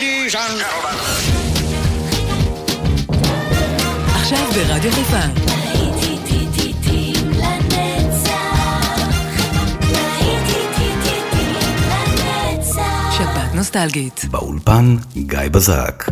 Ladies and gentlemen. עכשיו ברדיו חיפה. שבת נוסטלגית. באולפן גיא בזק.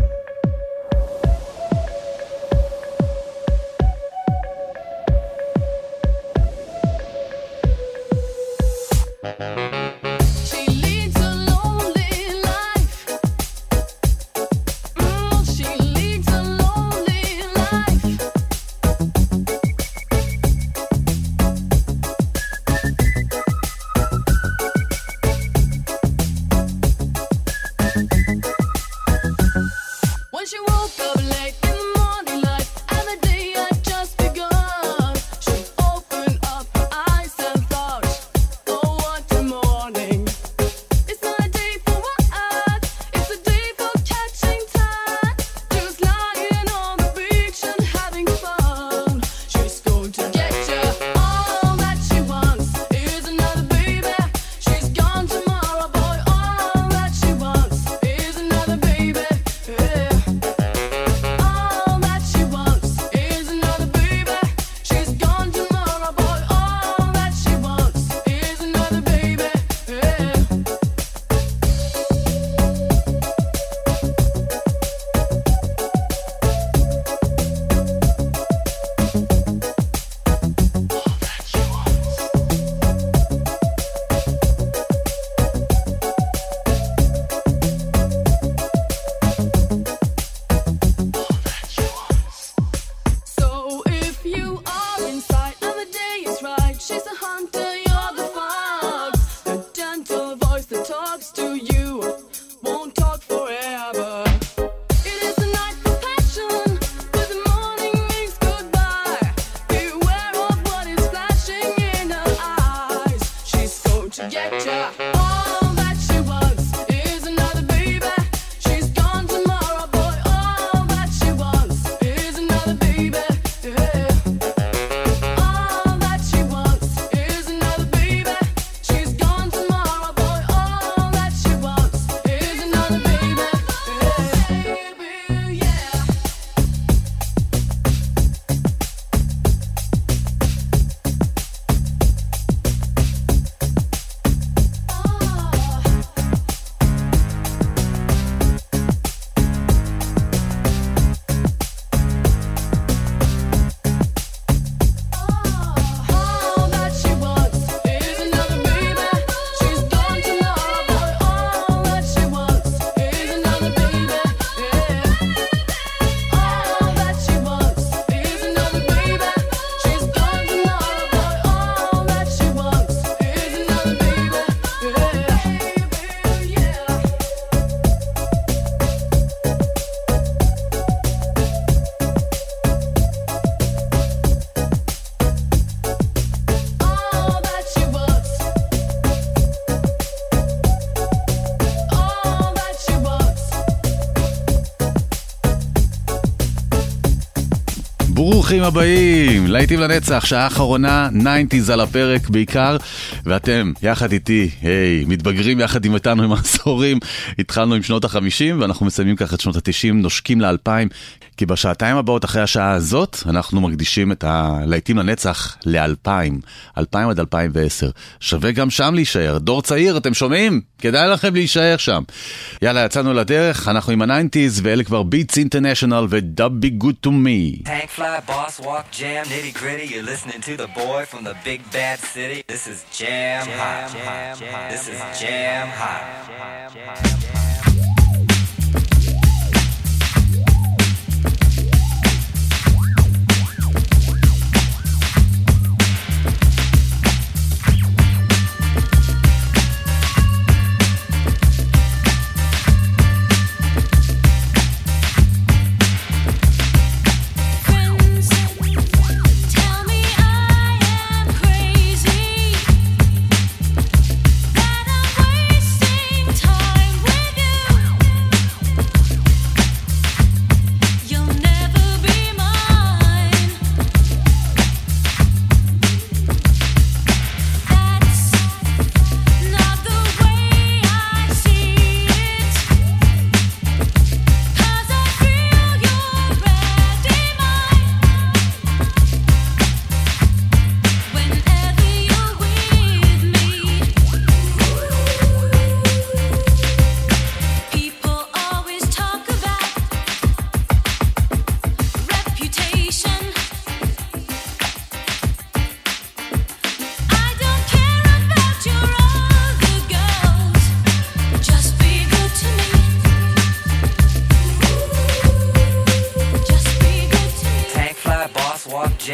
ברוכים הבאים, להיטים לנצח, שעה האחרונה, 90s על הפרק בעיקר, ואתם יחד איתי, מתבגרים יחד עם איתנו עם העשורים, התחלנו עם שנות ה-50 ואנחנו מסיימים ככה את שנות ה-90, נושקים ל-2000, כי בשעתיים הבאות אחרי השעה הזאת, אנחנו מקדישים את הלהיטים לנצח ל-2000, 2000 עד 2010. שווה גם שם להישאר, דור צעיר, אתם שומעים? כדאי לכם להישאר שם. יאללה, יצאנו לדרך, אנחנו עם ה-90s, ואלה כבר Beats International ו-Dub Be Good To Me. Tank fly, boss walk, jam, nitty gritty. You're listening to the boy from the big bad city. This is Jam Hot. This is Jam Hot. That I'm wasting time with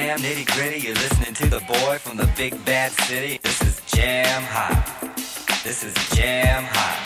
jam nitty gritty. You're listening to the boy from the big bad city. This is Jam Hot. This is Jam Hot.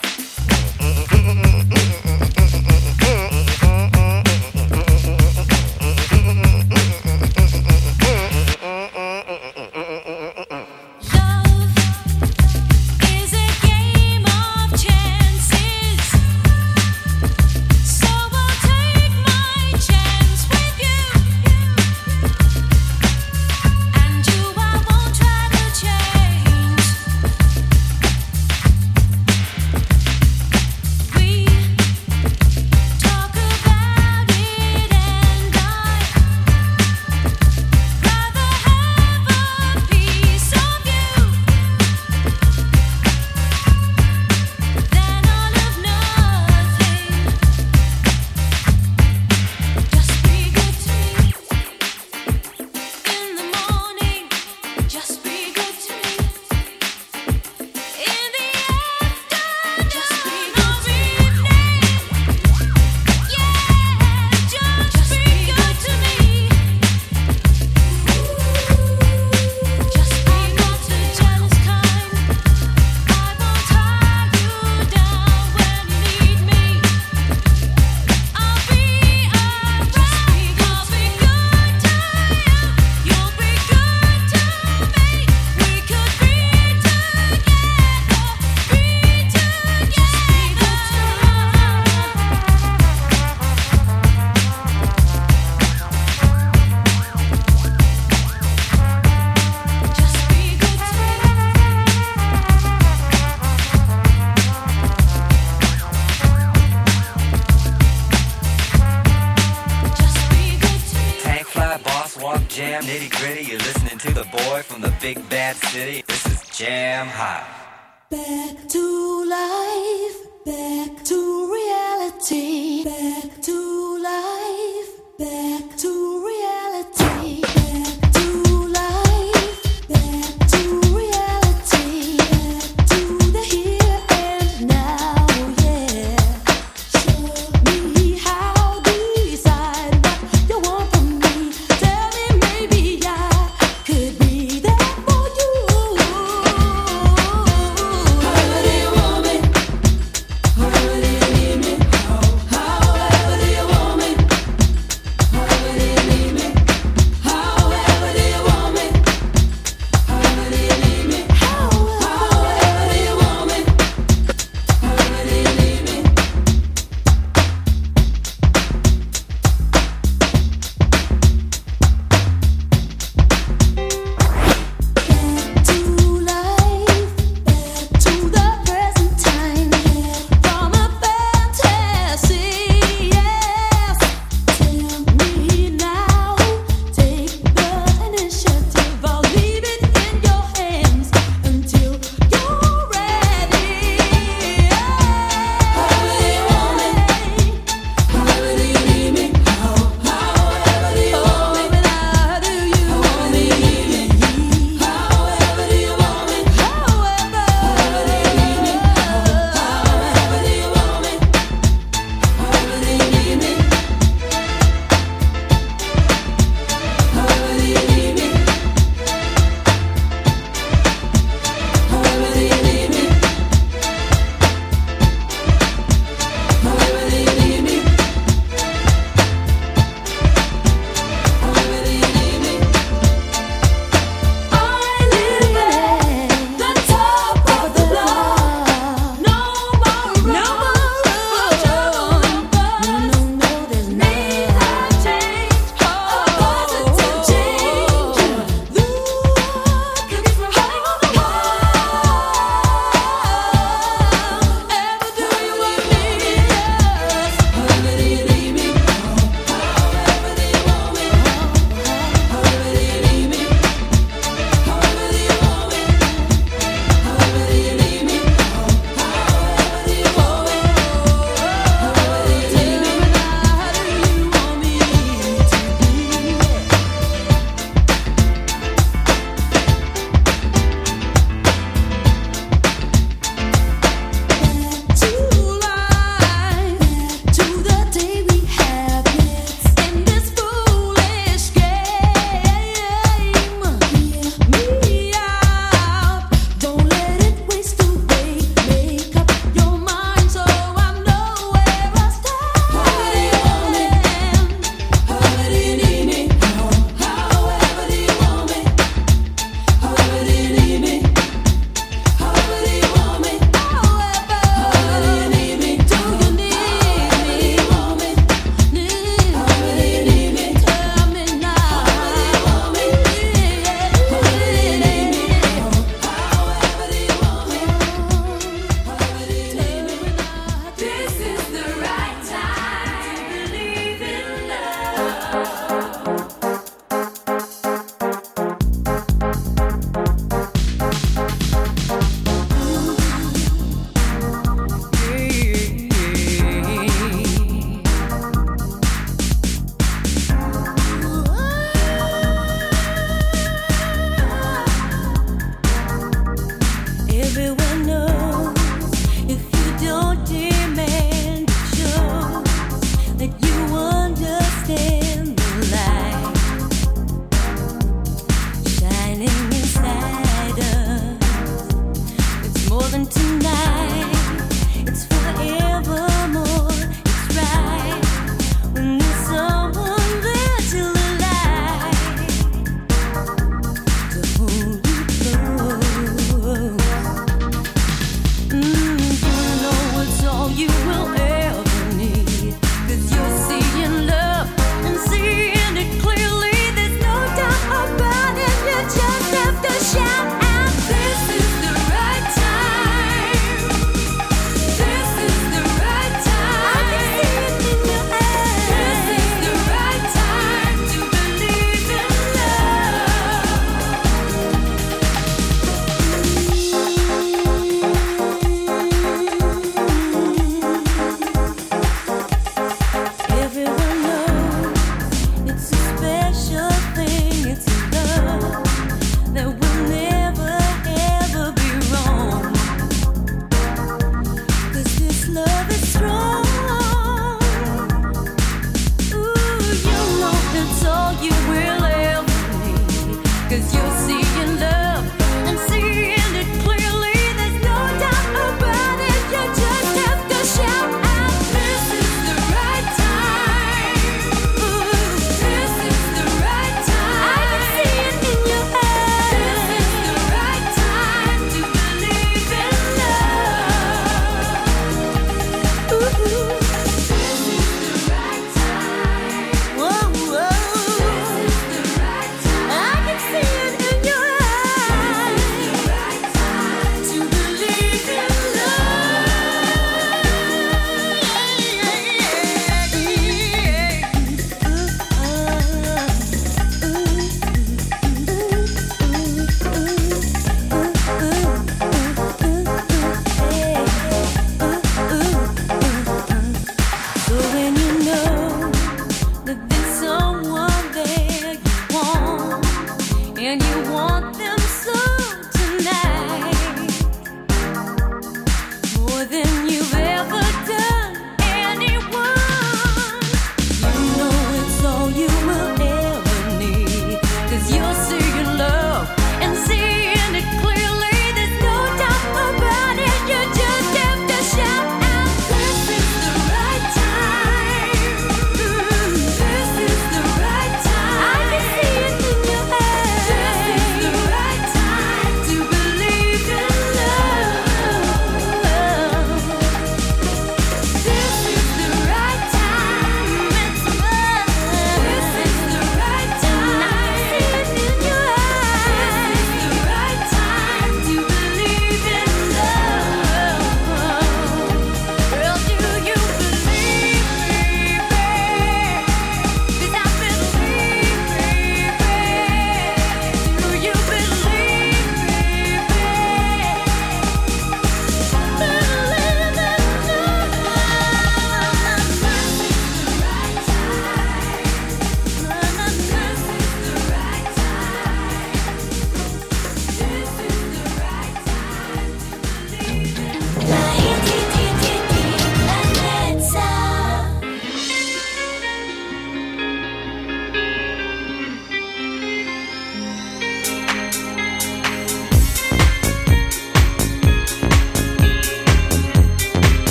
Jam nitty gritty. You're listening to the boy from the big bad city. This is Jam Hot. Back to life, back to reality, back to life, back to reality, back to life, back to reality, back to the here and now, yeah. Show me how to decide what you want from me. Tell me maybe I could be there for you. Hurry, woman, hurry,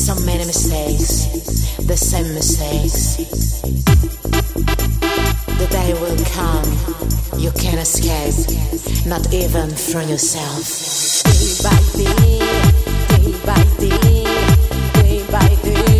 So many mistakes, the same mistakes. The day will come, you can't escape, not even from yourself. Day by day, day by day, day by day.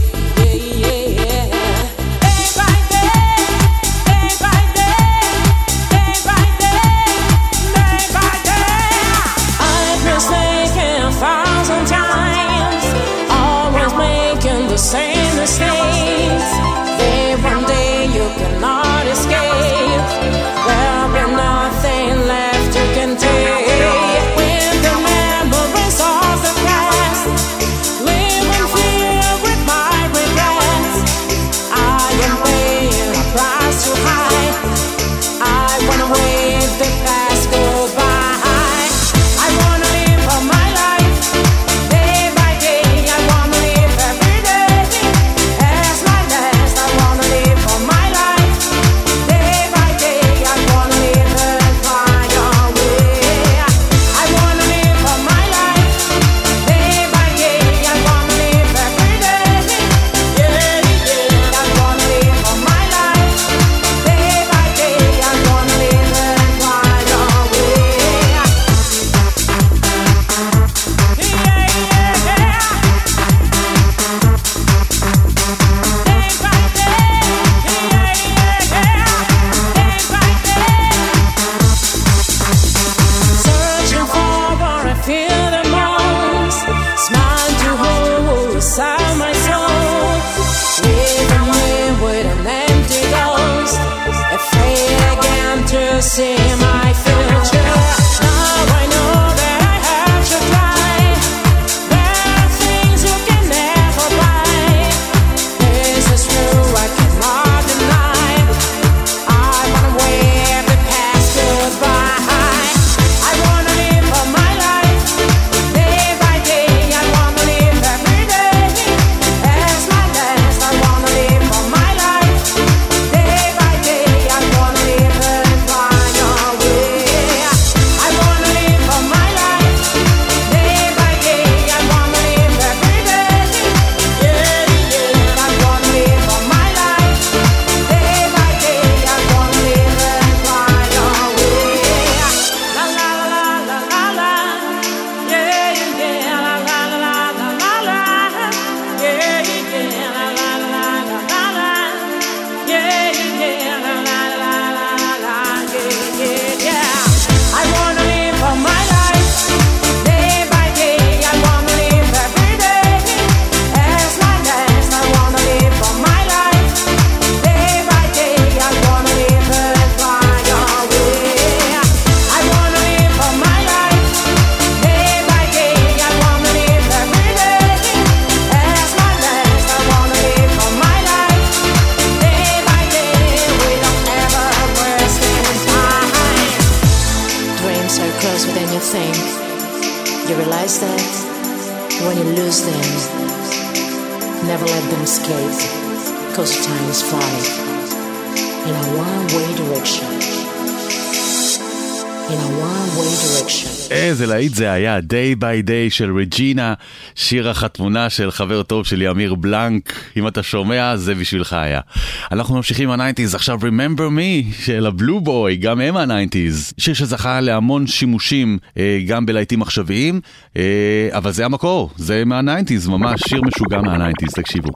Same mistakes. Then one day you cannot escape. There'll be nothing left you can take. When the memories of the past live in fear with my regrets, I am paying a price too high. I wanna wave the past goodbye. I wanna live for my life. Day by day, I wanna live every day. See my future. Now I know that I have to try. There are things you can never buy. This is true, I cannot deny. I wanna wave the past goodbye. I wanna live for my life. Day by day, I wanna live every day. As my last, I wanna live for my life. Day by day, I wanna live You realize that when you lose them, never let them escape, cause time is flying in a one-way direction. In a one-way direction. איזה להיט זה היה, Day by Day של רג'ינה, שיר החתמונה של חבר טוב שלי אמיר בלנק. אם אתה שומע, זה בשבילך היה. אנחנו ממשיכים ה-90s, עכשיו Remember Me של הבלו בוי, גם הם ה-90s. שיר שזכה להמון שימושים, גם בלהיטים עכשוויים, אבל זה המקור, זה מה-90s, ממש שיר משוגע מה-90s, תקשיבו.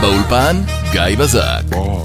באולפן גיא בזק.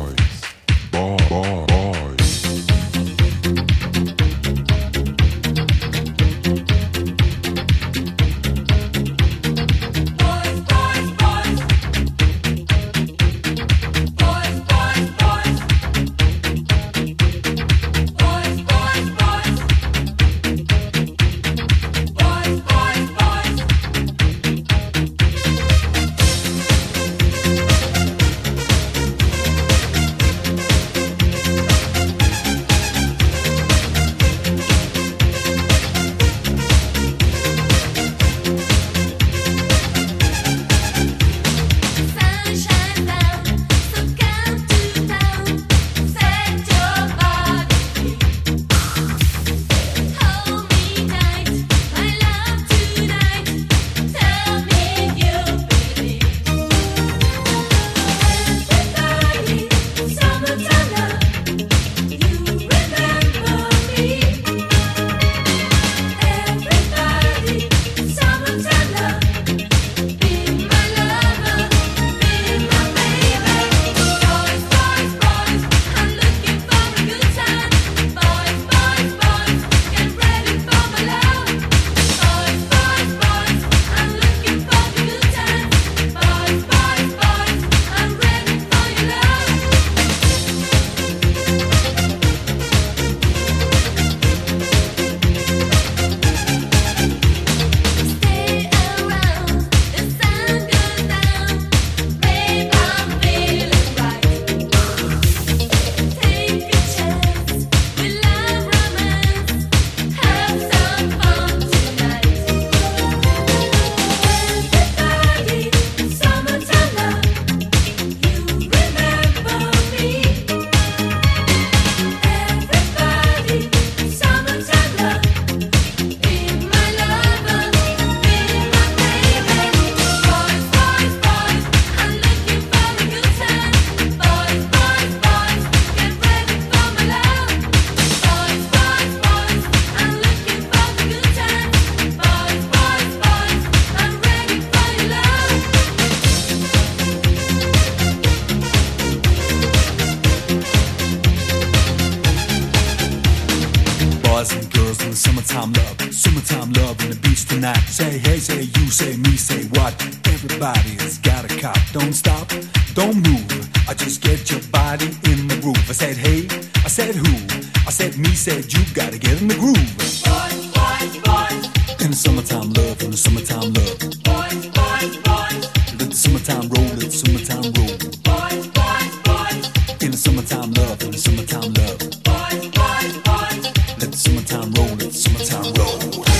Summertime love in the beach tonight. Say hey, say you, say me, say what? Everybody's got a cop. Don't stop, don't move. I just get your body in the groove. I said hey, I said who? I said me, said you. Gotta get in the groove. Boys, boys, boys. In the summertime love, in the summertime love. Boys, boys, boys. Let the summertime roll, let the summertime roll. Boys, boys, boys. In the summertime love, in the summertime love. Boys, boys, boys. Let the summertime roll, let the summertime roll.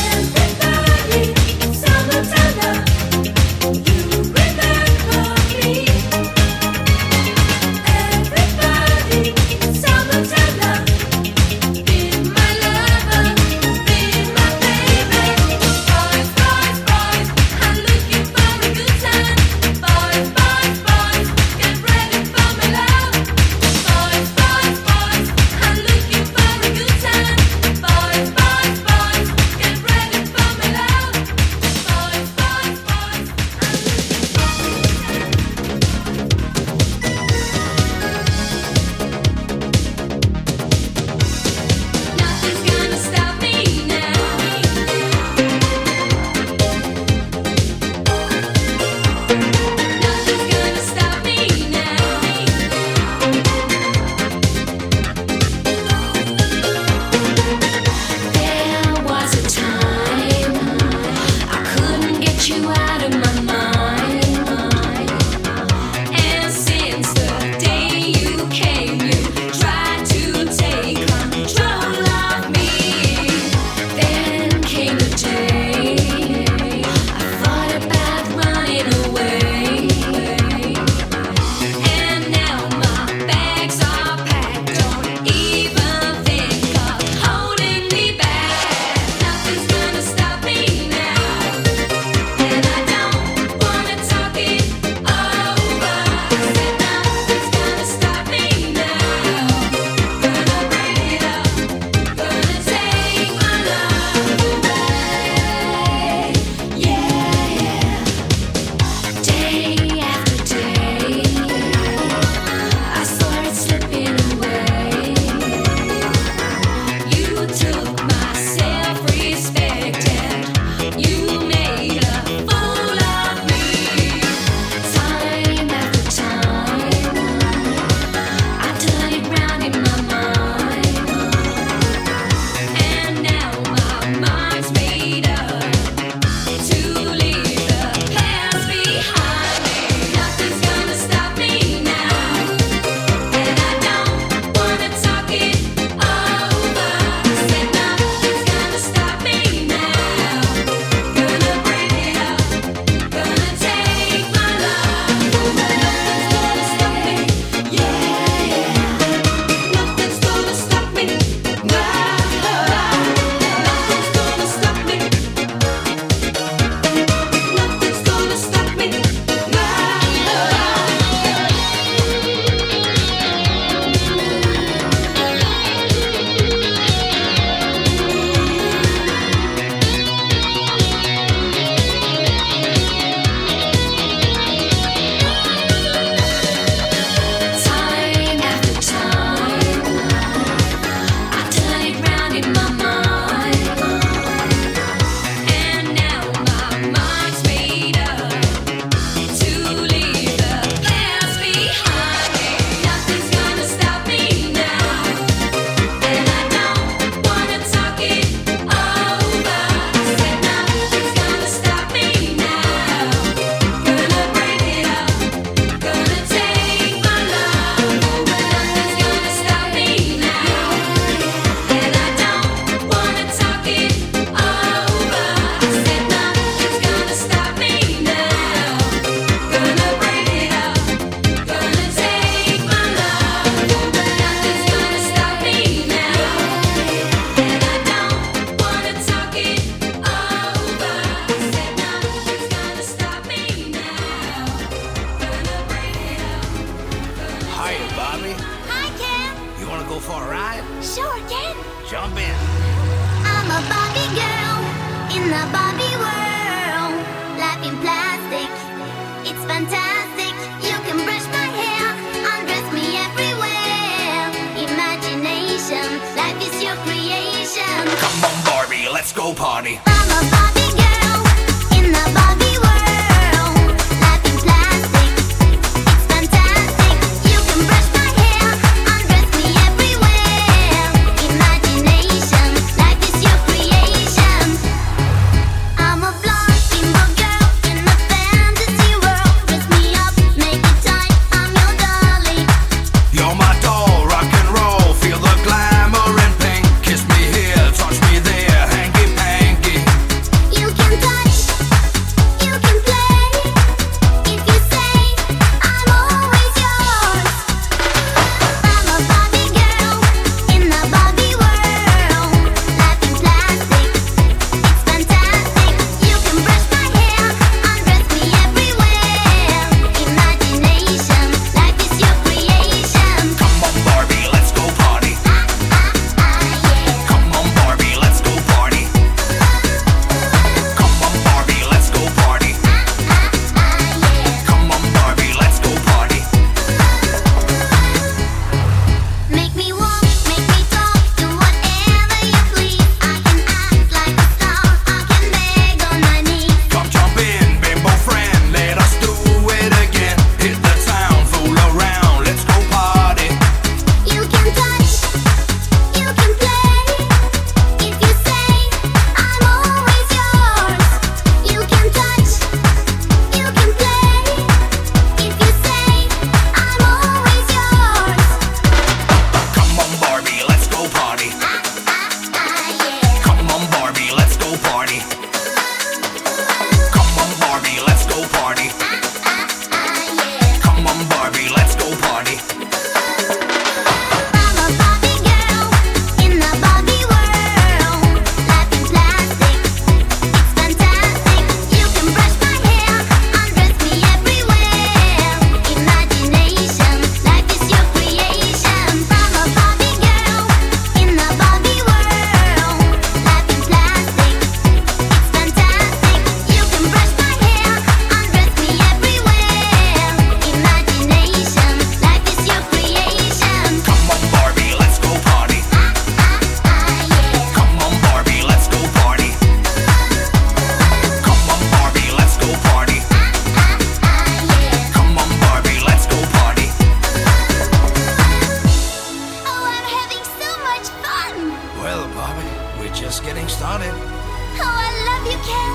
Everybody, summertime love. You remember me. Everybody, summertime love. Be my lover, be my baby. Boys, boys, boys. I'm looking for a good time. Boys, boys, boys. Get Bobby. Hi, Ken. You want to go for a ride? Sure, Ken. Jump in. I'm a Barbie girl in the Barbie world. Life in plastic, it's fantastic. You can brush my hair, undress me everywhere. Imagination, life is your creation. Come on, Barbie, let's go party. I'm a Barbie girl in the Barbie world. Life in plastic, it's fantastic. You can brush my hair, undress me everywhere. Imagination, life is your creation. I'm a blonde steamboat girl in a fantasy world. Dress me up, make it tight, I'm your dolly. You're my doll, rock and roll. Feel the glamour and pink. Kiss me here, touch me there, hanky panky. You can touch, you can play. If you say I'm always yours. I'm a Barbie girl in the Barbie world. Life in plastic, it's fantastic. You can brush my hair, undress me everywhere. Imagination, life is your creation. Come on, Barbie, let's go party. Come on, Barbie, let's go party. Come on, Barbie, let's go party. Come on, Barbie, let's go party. Make me walk, make me talk, do whatever you please. I can act like a star, I can beg on my knees. Come jump in, bimbo friend, let us do it again. Hit the town, fool around, let's go party. You can touch, you can play. If you say I'm always yours. You can touch, you can play. If you say I'm always yours. Come on, Barbie, let's go party. Come on, Barbie, let's go party. Come on, Barbie, let's go party. Come on, Barbie, let's go party. I'm a Barbie girl in the Barbie world. Life in plastic, it's fantastic. You can brush my hair, undress me everywhere. Imagination, life is your creation. I'm a Barbie girl in the Barbie world. Life in plastic, it's fantastic. You can brush my hair, undress me everywhere. Imagination, life is your creation. Come on, Barbie, let's go party. Come on, Barbie, let's go party. Come on, Barbie, let's go party. Come on, Barbie, let's go party. Oh, I'm having so much fun. Well, Barbie, we're just getting started. Oh, I love you, Ken.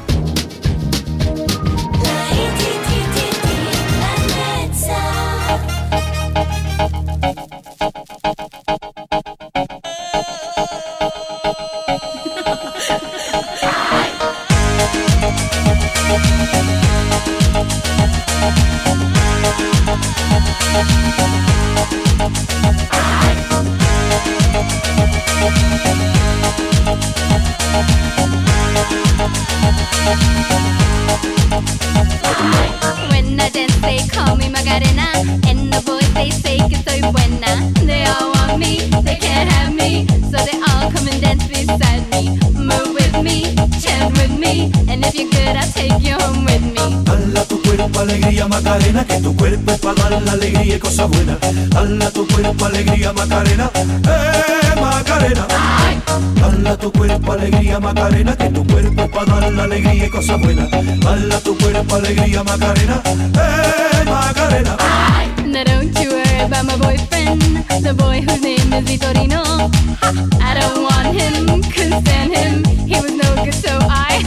When I dance, they call me Macarena, and the boys they say que soy buena. They all want me, they can't have me, so they all come and dance beside me. Move with me, chant with me, and if you're good, I'll take you home with me. Dala tu cuerpo alegría Macarena, que tu cuerpo es para dar la alegría y cosas buenas. Dala tu cuerpo alegría Macarena, Macarena. Dala tu cuerpo alegría Macarena, que tu cuerpo es para dar la alegría y cosas buenas. Dala tu cuerpo alegría Macarena, Macarena. Now don't you worry about my boyfriend, the boy whose name is Vitorino. I don't want him, couldn't stand him, he was no good, so I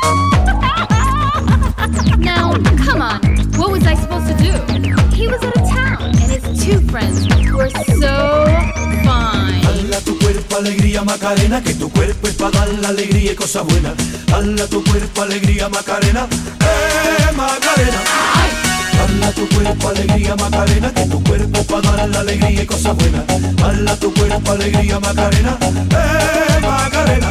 Now, come on, what was I supposed to do? He was out of town, and his two friends were so fine. Dala tu cuerpo alegría Macarena, que tu cuerpo es para dar la alegría y cosas buenas. Dala tu cuerpo alegría Macarena, Macarena. Dala tu cuerpo alegría Macarena, que tu cuerpo es para dar la alegría y cosas buenas. Dala tu cuerpo alegría Macarena, Macarena.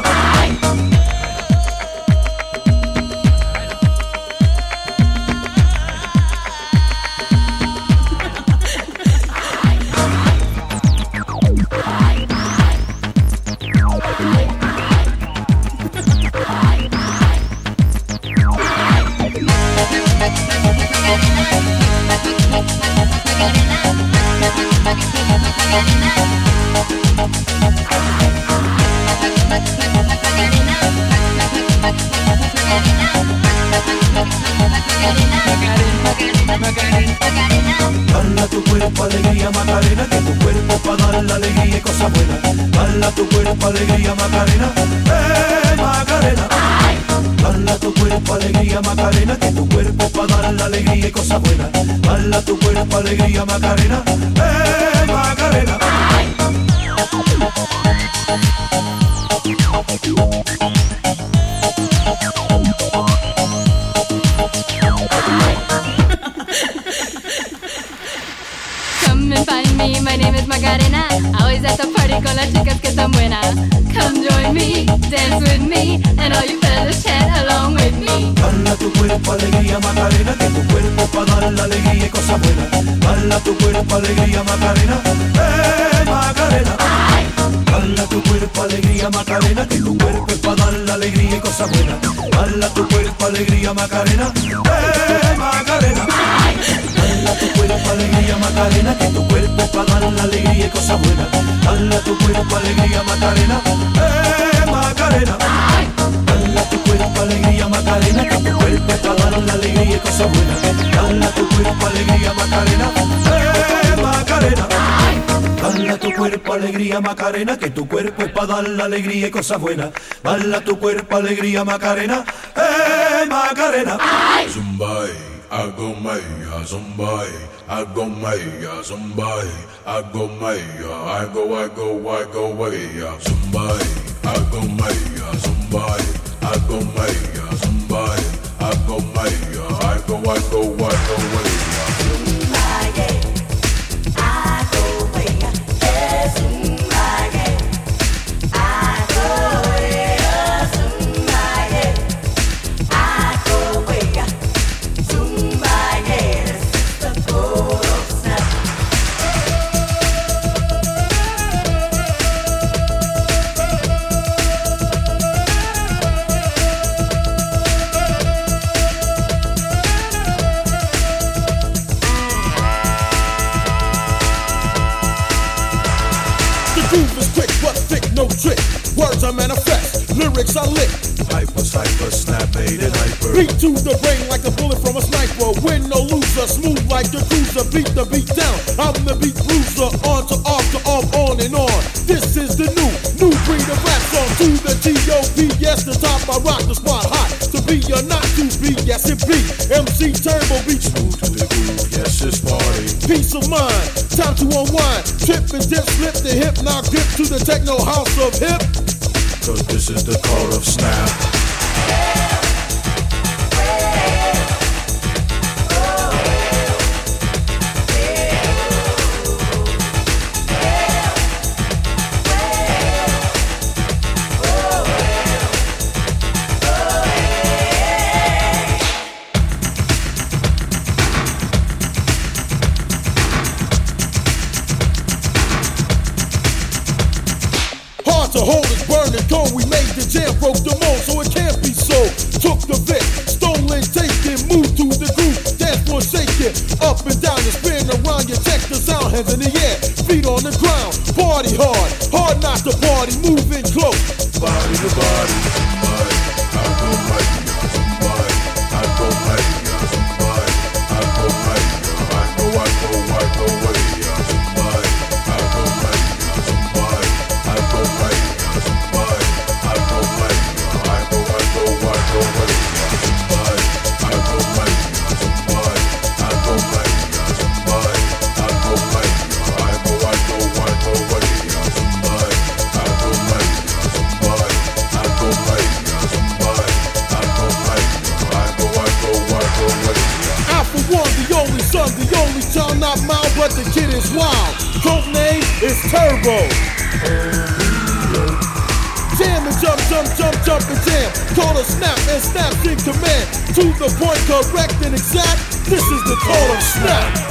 Dala tu cuerpo alegría Macarena, que tu cuerpo pa' dar la alegría y cosas buenas. Dala tu cuerpo alegría Macarena, Macarena. Dala tu cuerpo alegría Macarena, que tu cuerpo pa' dar la alegría y cosas buenas. Dala tu cuerpo alegría Macarena, Macarena. Come and find me, my name is Macarena. Always at the party con las chicas que están buenas. Come join me, dance with me, and all you fellas chat along with me. Dala tu cuerpo alegría Macarena, que tu cuerpo pa' dar la alegría y cosas buenas. Dala tu cuerpo alegría Macarena, Macarena. Dala tu cuerpo alegría Macarena, que tu cuerpo es pa' dar la alegría y cosas buenas. Dala tu cuerpo alegría Macarena, Macarena. Dala tu cuerpo alegría Macarena, que tu cuerpo es pa' dar la alegría y cosas buenas. Dala tu cuerpo alegría Macarena, Macarena. Dala tu cuerpo alegría Macarena, que tu cuerpo es pa' dar la alegría y cosas buenas. Dala tu cuerpo alegría Macarena, Macarena. Dala tu cuerpo alegría Macarena, que tu cuerpo es pa' dar la alegría y cosas buenas. Dala tu cuerpo alegría Macarena, Macarena. Zumbai, hago maya, zumbai, hago maya, zumbai, hago maya, hago maya, zumbai, hago maya, zumbai, hago maya, zumbai, hago maya, hago maya. No trick, words I manifest, lyrics I lick. Hyper, snap, made and hyper. Beat to the brain like a bullet from a sniper. Win no loser, smooth like the cruiser. Beat the beat down, I'm the beat bruiser. On to off to off, on and on. This is the new breed of rap song. To the T.O.P. Yes, the top I rock the spot hot. To be or not to be, yes it be. MC Turbo beat smooth to the groove, yes it's party. Peace of mind, time to unwind. Trip and dip, slip the hip, now grip to the techno house of hip. Cause this is the call of snap. To hold it, burn it, go. We made the jam, broke the mold, so it can't be sold. Took the Vic, stolen, taken, moved to the groove, dance floor shaking, up and down and spin around. You check the sound, hands in the air, feet on the ground. Party hard, hard not to party, moving close. Body to body, somebody, I go mighty, somebody, I go mighty, somebody, I go mighty, I go way, somebody, I go mighty, somebody, I go mighty. The only child not mine, but the kid is wild. Code name is Turbo. Jam and jump and jam. Call a snap and snap in command. To the point, correct and exact. This is the call of snap.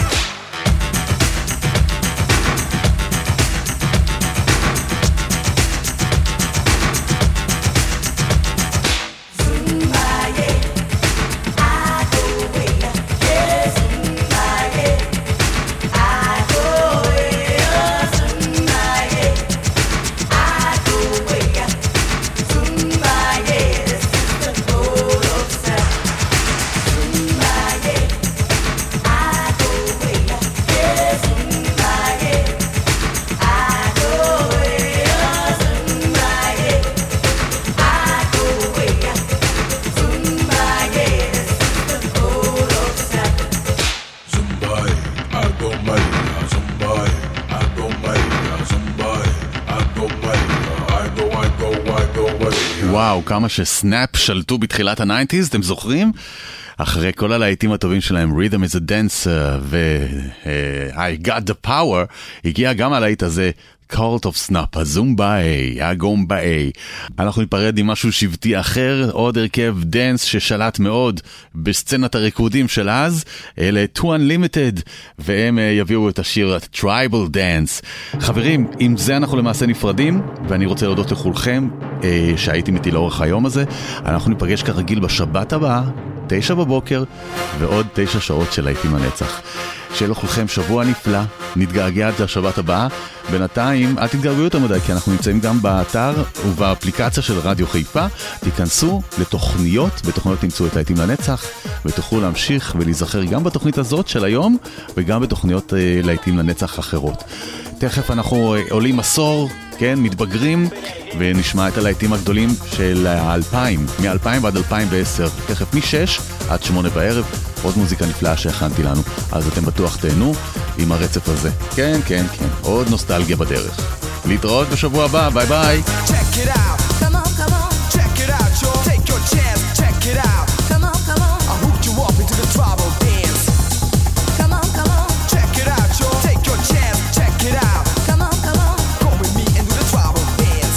Zumbai, I go May, Zumbai, I go May, I go away. וואו, כמה שסנאפ שלטו בתחילת ה-90s, אתם זוכרים? אחרי כל הלהיטים הטובים שלהם, Rhythm is a Dancer ו-I Got the Power, הגיע גם הלהיט הזה, Cult of Snap, הזומבאי, הגומבאי. אנחנו ניפרד עם משהו שבטי אחר, עוד הרכב דנס ששלט מאוד בסצנת הריקודים של אז, אלה Too Unlimited, והם יביאו את השיר Tribal Dance. חברים, עם זה אנחנו למעשה נפרדים, ואני רוצה להודות לכולכם שהייתם איתי לאורך היום הזה. אנחנו ניפגש כרגיל בשבת הבאה, 9 בבוקר, ועוד 9 שעות של להיטים לנצח. שיהיה לכולכם שבוע נפלא, נתגעגע עד לשבת הבאה. בינתיים, אל תתגעגעו יותר מדי, כי אנחנו נמצאים גם באתר ובאפליקציה של רדיו חיפה. תיכנסו לתוכניות, בתוכניות תמצאו את להיטים לנצח, ותוכלו להמשיך ולהיזכר גם בתוכנית הזאת של היום, וגם בתוכניות להיטים לנצח אחרות. תכף אנחנו עולים עשור, כן, מתבגרים, ונשמע את הלהיטים הגדולים של 2000, מ-2000 ועד 2010, תכף מ-6 עד 8 בערב, עוד מוזיקה נפלאה שהכנתי לנו, אז אתם בטוח תהנו עם הרצף הזה. כן, כן, כן, עוד נוסטלגיה בדרך. להתראות בשבוע הבא, ביי ביי. Check it out. Come on, come on. Check it out, y'all. Take your chance. Check it out. Come on, come on. I hooked you up into the tribal dance. Come on, come on. Check it out, y'all. Take your chance. Check it out. Come on, come on. Go with me and do the tribal dance.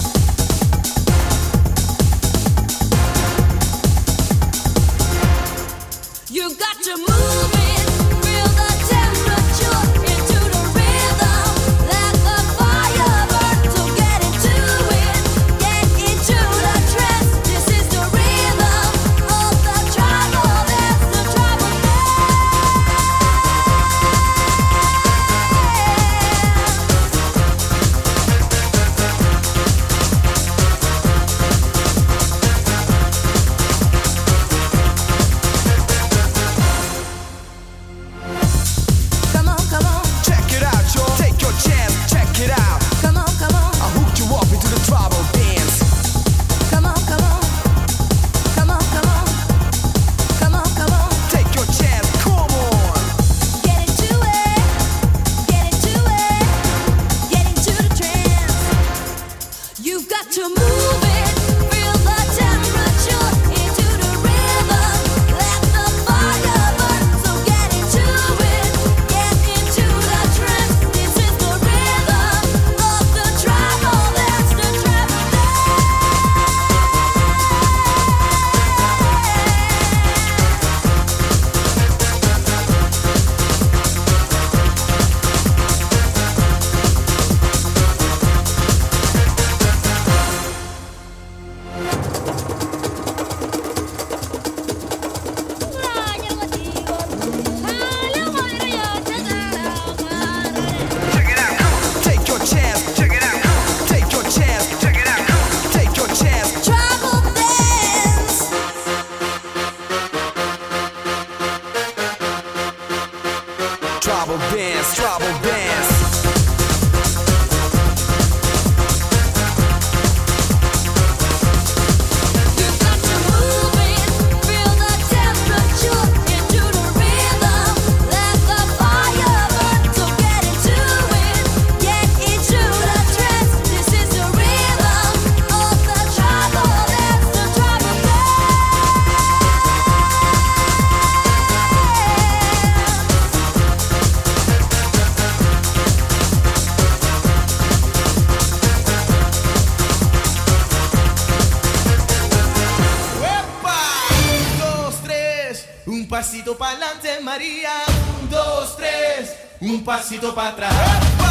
You got to move it, feel the temperature into the rhythm. Let the fire burn, so get into it, get into the trance. This is the rhythm of the tribal dance, the tribal Come on, come on. Check it out, y'all. Take your chance. Check it out. Come on, come on. I hooked you up into the tribal dance. Come on, come on. Come on, come on. Come on, come on. Take your chance. Come on. Get into it. Get into it. Get into the trance. You've got to move it. Feel the temperature into the rhythm. Let the fire burn. So get into it. Get into the trance. This is the rhythm of the tribal dance. The tribal Check it out. Take your chance. Check it out. Take your chance. Check it out. Take your chance. tribal dance. Tribal dance. Tribal dance. You've got to move it, feel the temperature into the rhythm. Let the fire burn, so get into it, get into the trance. This is the rhythm of the tribal dance, the tribal ¡Epa! 1, 2, 3, un pasito para adelante, María. 1, 2, 3, un pasito para atrás. ¡Epa!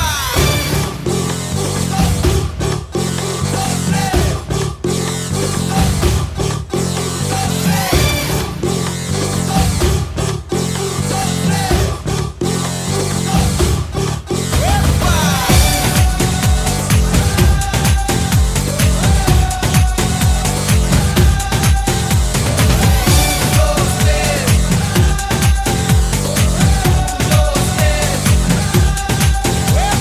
¡Epa!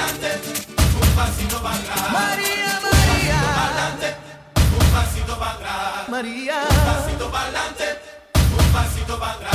pa'lante, un pasito para atrás. María, Un María, pasito pa'lante, un pasito para atrás. María. Un pasito pa'lante, un pasito para atrás.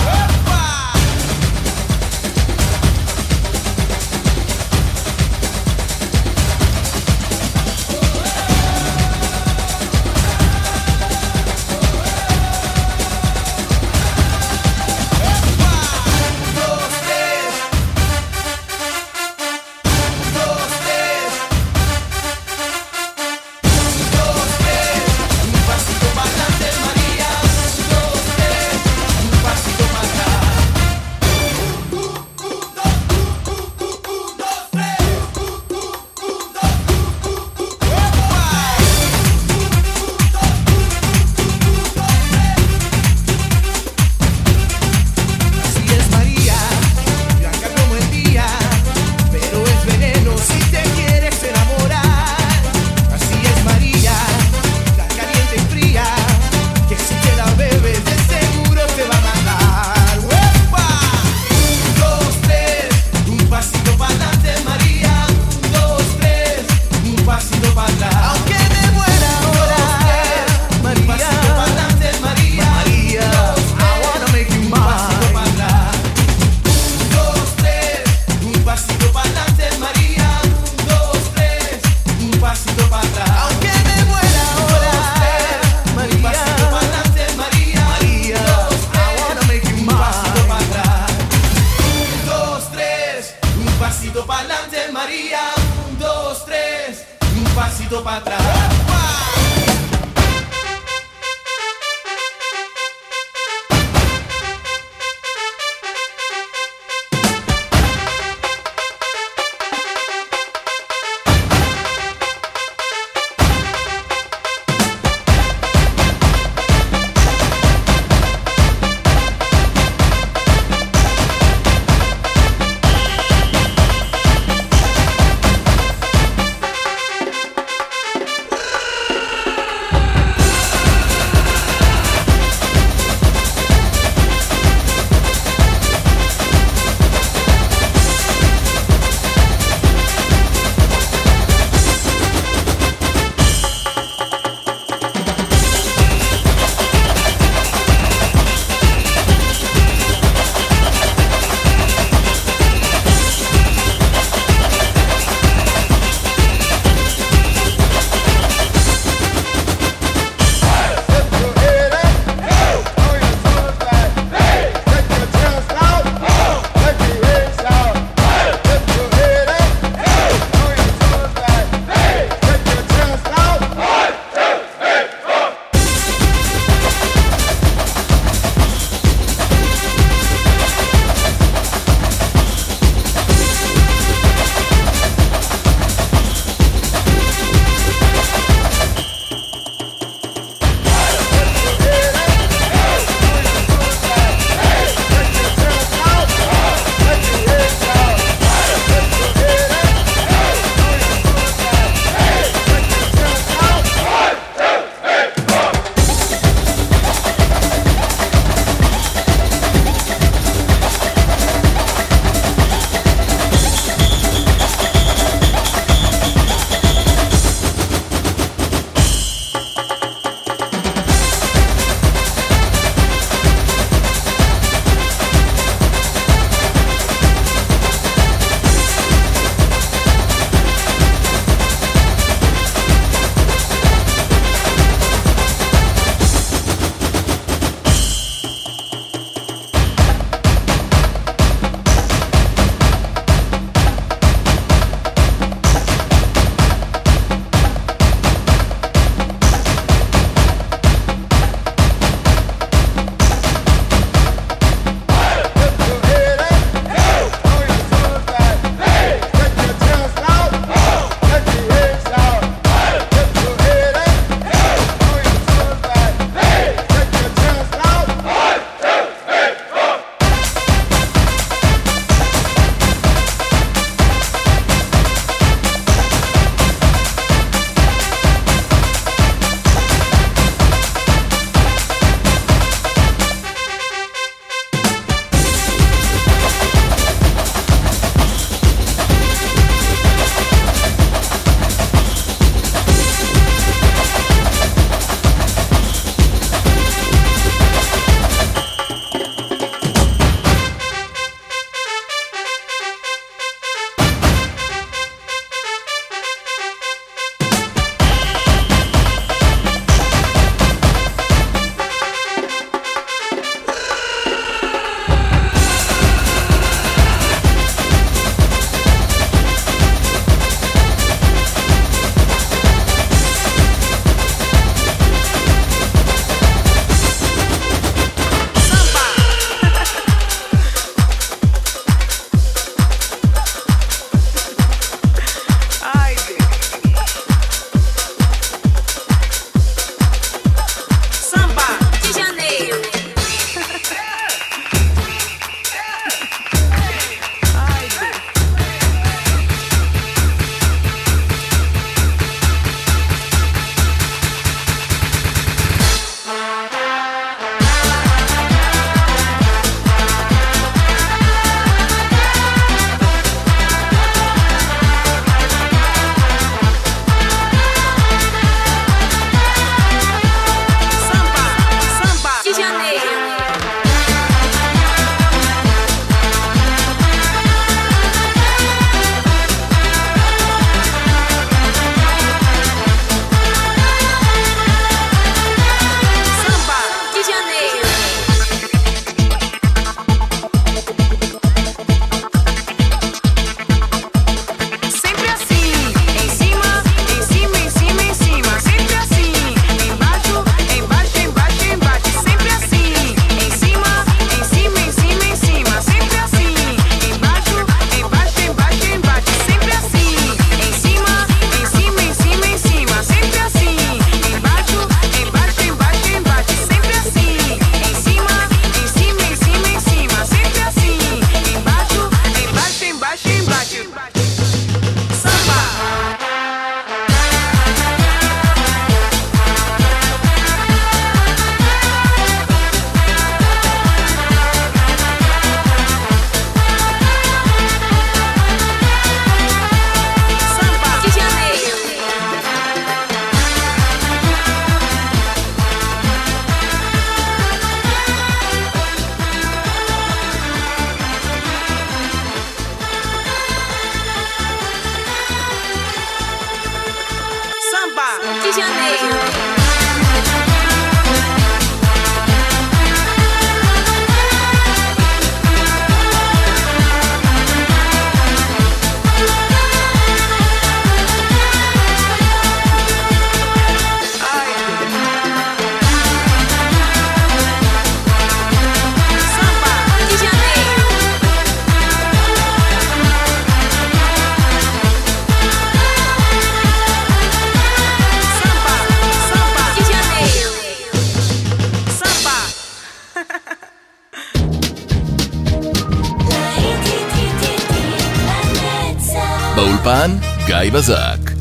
Así es María, blanca como el día, pero es veneno si te quieres enamorar. Así es María, tan caliente y fría, que si te la bebes de seguro te va a matar. ¡Uepa! 1, 2, 3, un pasito para adelante María. 1, 2, 3, un pasito para atrás. Aunque me muera ahora, María. Un pasito para adelante María. María, I wanna make you mine. Un pasito para adelante, María. 1, 2, 3, un pasito para atrás. Aunque me muera ahora, María. Un pasito para adelante, María. María, I wanna make you mine. Un pasito para atrás. 1, 2, 3, un pasito para adelante, María. 1, 2, 3, un pasito para atrás. באולפן גיא בזק.